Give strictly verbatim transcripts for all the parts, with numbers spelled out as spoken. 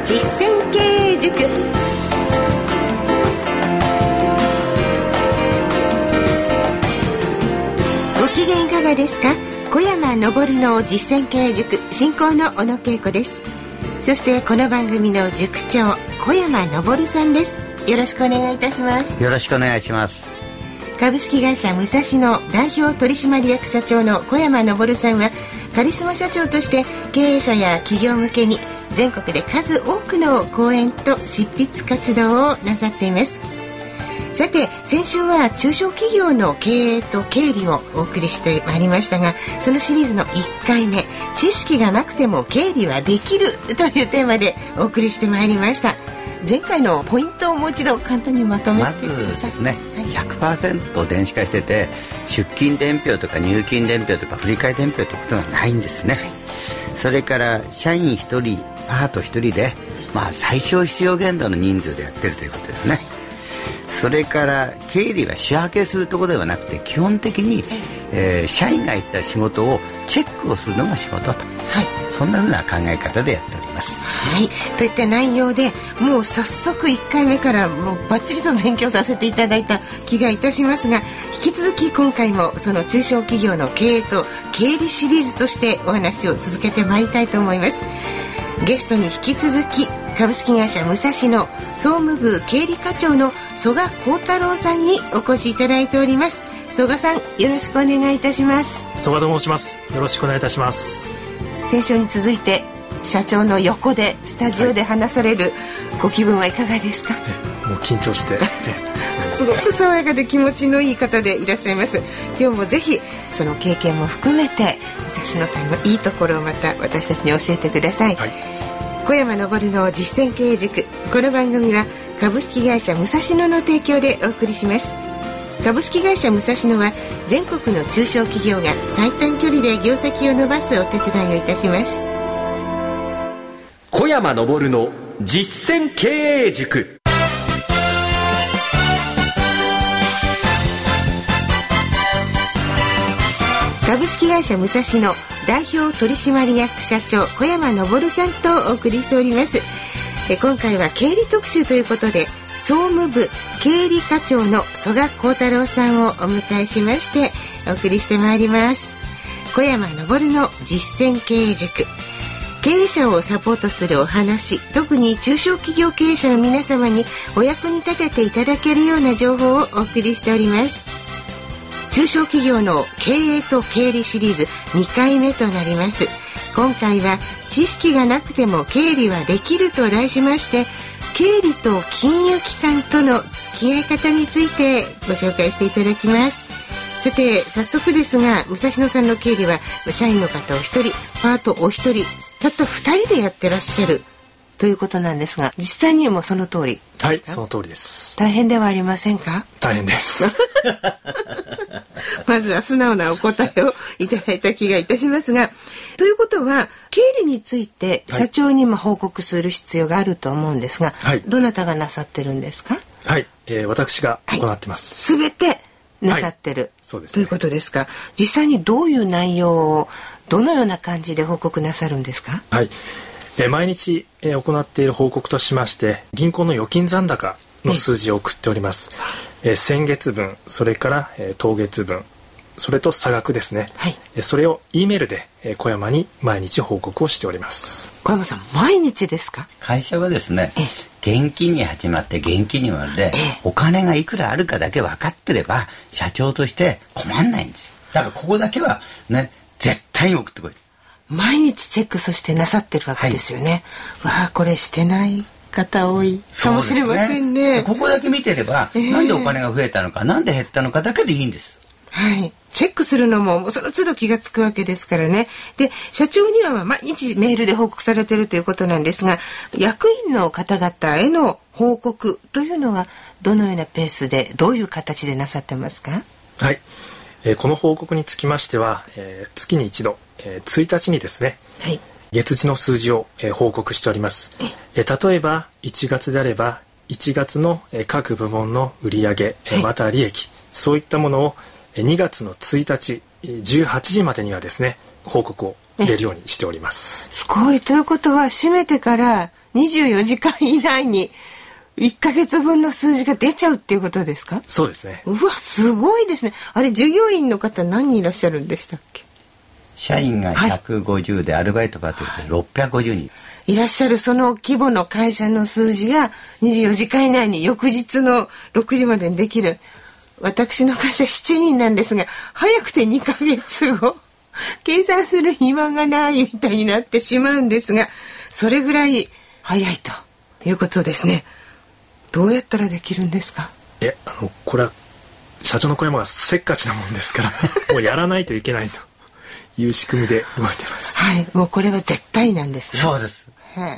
実践経営塾。ご機嫌いかがですか？小山昇の実践経営塾進行の小野恵子です。そしてこの番組の塾長小山昇さんです。よろしくお願いいたします。 よろしくお願いします。 株式会社武蔵野代表取締役社長の小山昇さんはカリスマ社長として経営者や企業向けに全国で数多くの講演と執筆活動をなさっています。さて先週は中小企業の経営と経理をお送りしてまいりましたが、そのシリーズのいっかいめ、知識がなくても経理はできるというテーマでお送りしてまいりました。前回のポイントをもう一度簡単にまとめてください。 まずですね、はい、ひゃくパーセント 電子化してて出勤伝票とか入金伝票とか振替伝票ということがないんですね、はい、それから社員ひとりパートひとりで、まあ、最小必要限度の人数でやってるということですね。それから経理は仕分けするところではなくて基本的に、えー、社員が言った仕事をチェックをするのが仕事と、はい、そんなふうな考え方でやっております。 はい、といった内容でもう早速いっかいめからもうバッチリと勉強させていただいた気がいたしますが、引き続き今回もその中小企業の経営と経理シリーズとしてお話を続けてまいりたいと思います。ゲストに引き続き株式会社武蔵野総務部経理課長の曽我幸太郎さんにお越しいただいております。曽我さん、よろしくお願いいたします。 曽我と申します。よろしくお願いいたします。 先週に続いて社長の横でスタジオで話される、はい、ご気分はいかがですか？ もう緊張してすごく爽やかで気持ちのいい方でいらっしゃいます。今日もぜひその経験も含めて武蔵野さんのいいところをまた私たちに教えてください、はい、小山昇の実践経営塾。この番組は株式会社武蔵野の提供でお送りします。株式会社武蔵野は全国の中小企業が最短距離で業績を伸ばすお手伝いをいたします。 小山昇の実践経営塾。 株式会社武蔵野代表取締役社長小山昇さんとお送りしております。え今回は経理特集ということで総務部経理課長の曽我幸太郎さんをお迎えしましてお送りしてまいります。小山昇の実践経営塾。経営者をサポートするお話、特に中小企業経営者の皆様にお役に立てていただけるような情報をお送りしております。中小企業の経営と経理シリーズにかいめとなります。今回は知識がなくても経理はできると題しまして、経理と金融機関との付き合い方についてご紹介していただきます。さて早速ですが、武蔵野さんの経理は社員の方を一人、パートお一人、たった二人でやってらっしゃるということなんですが、実際にもその通り？ はい、その通りです。 大変ではありませんか？ 大変ですまずは素直なお答えをいただいた気がいたしますが、ということは経理について社長にも報告する必要があると思うんですが、はい、どなたがなさってるんですか？ はい、えー、私が行ってます。 すべ、はい、てなさってる、はい、そうですね、ということですか？実際にどういう内容をどのような感じで報告なさるんですか？ はい、えー、毎日、えー、行っている報告としまして、銀行の預金残高の数字を送っております、えー、先月分、それから、えー、当月分、それと差額ですね、はい、えー、それを E メールで、えー、小山に毎日報告をしております。 小山さん、毎日ですか？ 会社はですね、現金に始まって現金にまで、お金がいくらあるかだけ分かってれば社長として困んないんですよ。だからここだけはね、絶対に送ってこい。 毎日チェックそしてなさってるわけですよね、はい、わあ、これしてない方多いかもしれません ね, ねここだけ見てれば、えー、なんでお金が増えたのか、なんで減ったのかだけでいいんです。 はい、チェックするのもその都度気がつくわけですからね。で、社長には毎日メールで報告されているということなんですが、役員の方々への報告というのはどのようなペースでどういう形でなさってますか？ はい、えー、この報告につきましては、えー、月に一度、えー、ついたちにですね、はい、月次の数字を、えー、報告しております。えー、例えばいちがつであればいちがつの、えー、各部門の売上、えー、また利益、そういったものをにがつのついたちじゅうはちじまでにはですね報告を入れるようにしております。 すごい。ということは閉めてからにじゅうよじかん以内にいっかげつぶんの数字が出ちゃうっていうことですか？ そうですね。 うわ、すごいですね。あれ、従業員の方何人いらっしゃるんでしたっけ？ 社員がひゃくごじゅうで、はい、アルバイトパートでろっぴゃくごじゅうにんいらっしゃる。その規模の会社の数字がにじゅうよじかん以内に翌日のろくじまでにできる。私の会社しちにんなんですが、早くてにかげつご計算する暇がないみたいになってしまうんですが、それぐらい早いということですね。どうやったらできるんですか？ えあのこれは社長の小山がせっかちなもんですからもうやらないといけないという仕組みで動いてます。 はい、もうこれは絶対なんですね。 そうです。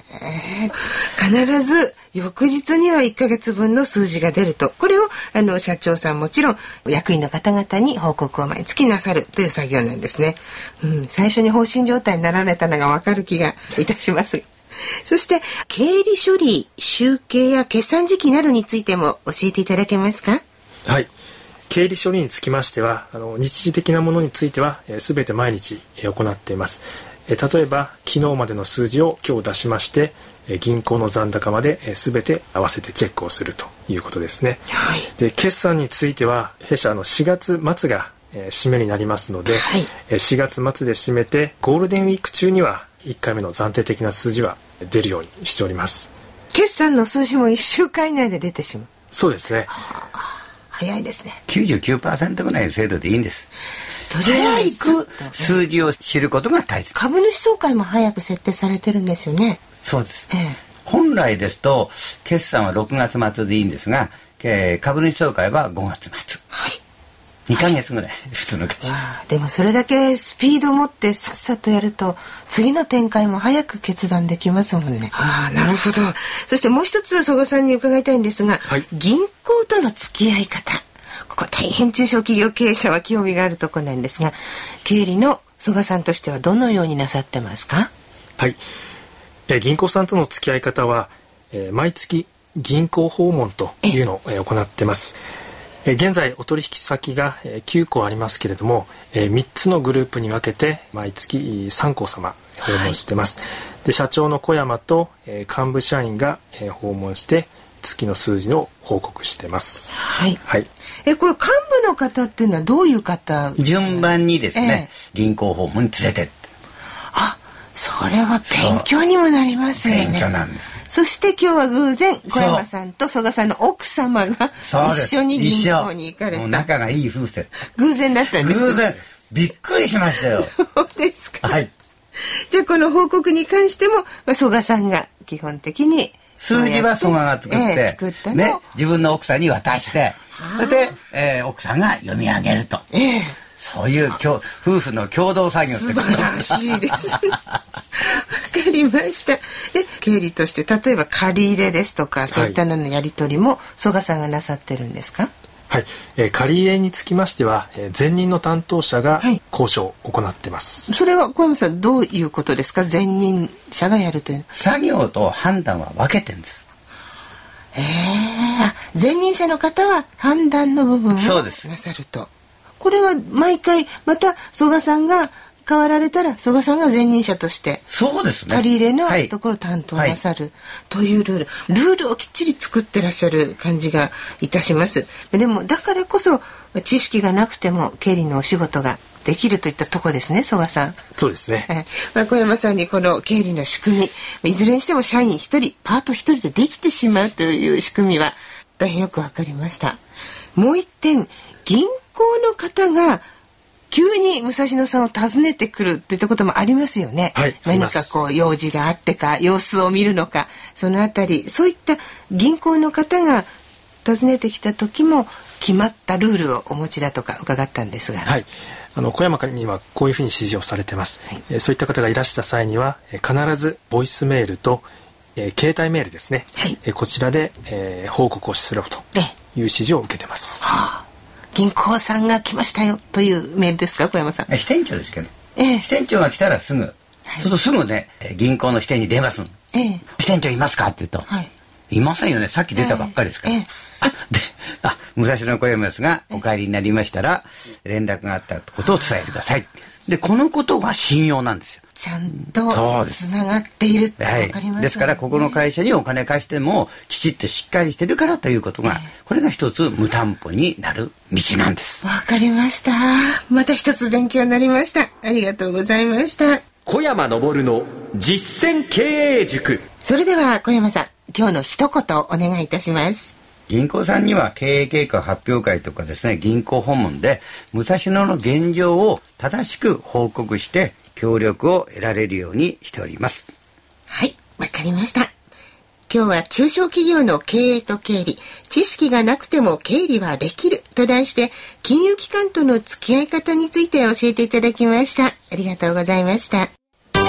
必ず翌日にはいっかげつぶんの数字が出ると、これをあの社長さんもちろん役員の方々に報告を毎月なさるという作業なんですね、うん、最初に放心状態になられたのが分かる気がいたしますそして経理処理、集計や決算時期などについても教えていただけますか？ はい、経理処理につきましてはあの日時的なものについてはすべて毎日行っています。例えば昨日までの数字を今日出しまして銀行の残高まで全て合わせてチェックをするということですね、はい、で決算については弊社のしがつ末が締めになりますので、はい、しがつ末で締めてゴールデンウィーク中にはいっかいめの暫定的な数字は出るようにしております。決算の数字もいっしゅうかん以内で出てしまう。 そうですね。 早いですね。 きゅうじゅうきゅうパーセント ぐらいの精度でいいんです。とりあえず早く数字を知ることが大切。 株主総会も早く設定されてるんですよね。 そうです、ええ、本来ですと決算はろくがつ末でいいんですが、えー、株主総会はごがつ末、はい、にかげつぐらい、はい、普通の会社。 でもそれだけスピードを持ってさっさとやると次の展開も早く決断できますもんね。ああ、なるほど。そしてもう一つ曽我さんに伺いたいんですが、はい、銀行との付き合い方、ここ大変中小企業経営者は興味があるところなんですが、経理の曽我さんとしてはどのようになさってますか？ はい、え銀行さんとの付き合い方は、えー、毎月銀行訪問というのを、えー、行ってます。えー、現在お取引先が、えー、きゅうこありますけれども、えー、みっつのグループに分けて毎月さんこう様訪問してます、はい、で社長の小山と、えー、幹部社員が、えー、訪問して月の数字を報告してます。 はい、 はい。 えこれ幹部の方っていうのはどういう方？ 順番にですね、えー、銀行訪問に連れてって。あ、 それは勉強にもなりますよね。 勉強なんです。 そして今日は偶然小山さんと曽我さんの奥様が一緒に銀行に行かれた。 もう仲がいい夫婦で。 偶然だったんです。 偶然。びっくりしましたよ。 そうですか。 はい。 じゃあこの報告に関しても、まあ、曽我さんが基本的に数字は曽我が作って、 えー、作ったのね、自分の奥さんに渡して、それで、えー、奥さんが読み上げると、えー、そういう夫婦の共同作業って素晴らしいですわかりました。で経理として例えば借り入れですとかそういったののやり取りも曽我さんがなさってるんですか？ はい、えー、借り入れにつきましては、えー、前任の担当者が交渉を行ってます、 はい、それは小山さんどういうことですか？前任者がやるという作業と判断は分けてるんです。 えー、前任者の方は判断の部分をなさると。これは毎回また曽我さんが変わられたら曽我さんが前任者としてそうですね、 借り入れのところを担当なさる、はい、というルールルールをきっちり作ってらっしゃる感じがいたします。でもだからこそ知識がなくても経理のお仕事ができるといったところですね、曽我さん。 そうですね、 はい、まあ、小山さんにこの経理の仕組み、いずれにしても社員一人パート一人でできてしまうという仕組みは大変よくわかりました。もう一点、銀行の方が急に武蔵野さんを訪ねてくるっていったこともありますよね、 はい、 何かこう用事があってか様子を見るのか、そのあたりそういった銀行の方が訪ねてきた時も決まったルールをお持ちだとか伺ったんですが、 はい、あの小山にはこういうふうに指示をされてます、はい、えー、そういった方がいらした際には、えー、必ずボイスメールと、えー、携帯メールですね、はい、えー、こちらで、えー、報告をするという指示を受けてます、 はあ、銀行さんが来ましたよというメールですか、小山さん？ 支店長ですけど、えー、支店長が来たらすぐ、はい、そうするとすぐね銀行の支店に電話するの、えー、支店長いますかって言うと、はい、 いませんよね。さっき出たばっかりですから、えーえー、あであ武蔵野小山ですが、お帰りになりましたら連絡があったことを伝えてください。でこのことは信用なんですよ。 ちゃんとつながっているって分かりますよね、 はい、ですからここの会社にお金貸してもきちっとしっかりしてるからということが、これが一つ無担保になる道なんです。 わかりました。また一つ勉強になりました。ありがとうございました。 小山昇の実践経営塾。 それでは小山さん、今日の一言お願いいたします。 銀行さんには経営計画発表会とかですね、銀行訪問で武蔵野の現状を正しく報告して協力を得られるようにしております。 はい、わかりました。今日は中小企業の経営と経理、知識がなくても経理はできると題して金融機関との付き合い方について教えていただきました。ありがとうございました。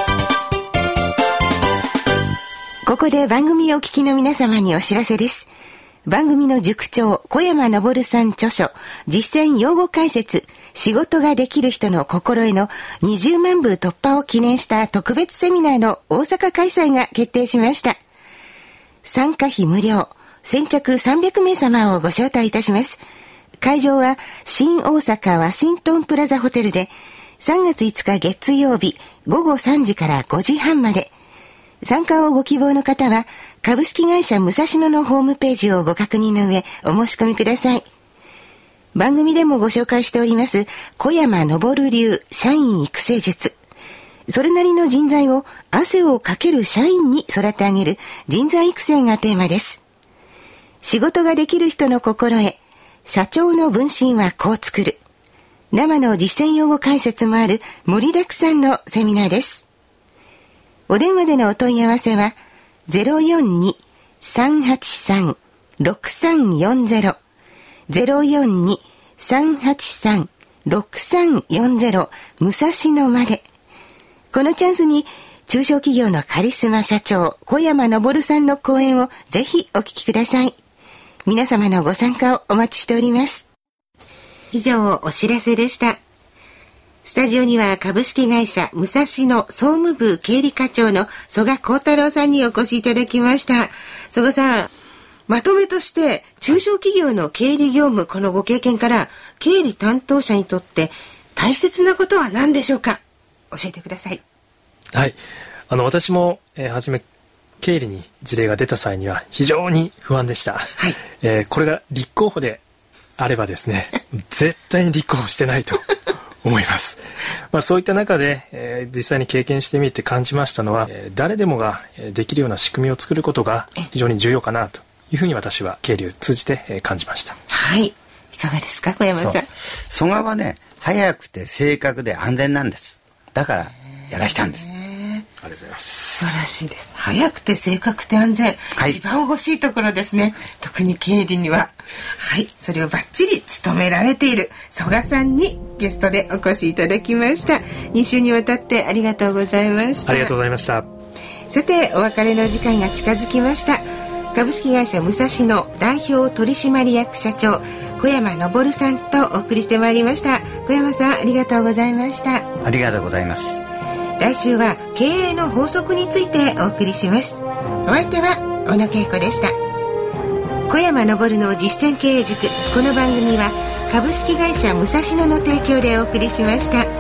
ここで番組をお聞きの皆様にお知らせです。番組の塾長小山昇さん著書実践用語解説仕事ができる人の心得のにじゅうまんぶ突破を記念した特別セミナーの大阪開催が決定しました。参加費無料、先着さんびゃくめい様をご招待いたします。会場は新大阪ワシントンプラザホテルでさんがついつか月曜日ごごさんじからごじはんまで。参加をご希望の方は株式会社武蔵野のホームページをご確認の上お申し込みください。番組でもご紹介しております小山昇流社員育成術。それなりの人材を汗をかける社員に育て上げる人材育成がテーマです。仕事ができる人の心得、社長の分身はこう作る。生の実践用語解説もある盛りだくさんのセミナーです。お電話でのお問い合わせは ゼロよんに さんはちさん ろくさんよんゼロ ゼロよんに さんはちさん ろくさんよんゼロ 武蔵野まで。このチャンスに中小企業のカリスマ社長小山昇さんの講演をぜひお聞きください。皆様のご参加をお待ちしております。以上お知らせでした。スタジオには株式会社武蔵野総務部経理課長の曽我幸太郎さんにお越しいただきました。曽我さん、まとめとして中小企業の経理業務、このご経験から経理担当者にとって大切なことは何でしょうか。教えてください。 はい、あの私も、えー、初め経理に事例が出た際には非常に不安でした、はい、えー、これが立候補であればですね絶対に立候補してないと思います。まあ、そういった中で、えー、実際に経験してみて感じましたのは、えー、誰でもができるような仕組みを作ることが非常に重要かなというふうに私は経理を通じて、えー、感じました。 はい、いかがですか小山さん。 曽我はね、早くて正確で安全なんです。だからやらしたんです。 ありがとうございます。 素晴らしいです。早くて正確で安全、はい、一番欲しいところですね。特に経理には。はい、それをバッチリ務められている曽我さんにゲストでお越しいただきました。に週にわたってありがとうございました。 ありがとうございました。 さて、お別れの時間が近づきました。株式会社武蔵野代表取締役社長小山昇さんとお送りしてまいりました。小山さん、ありがとうございました。 ありがとうございます。 来週は経営の法則についてお送りします。お相手は小野恵子でした。小山昇の実践経営塾。この番組は株式会社武蔵野の提供でお送りしました。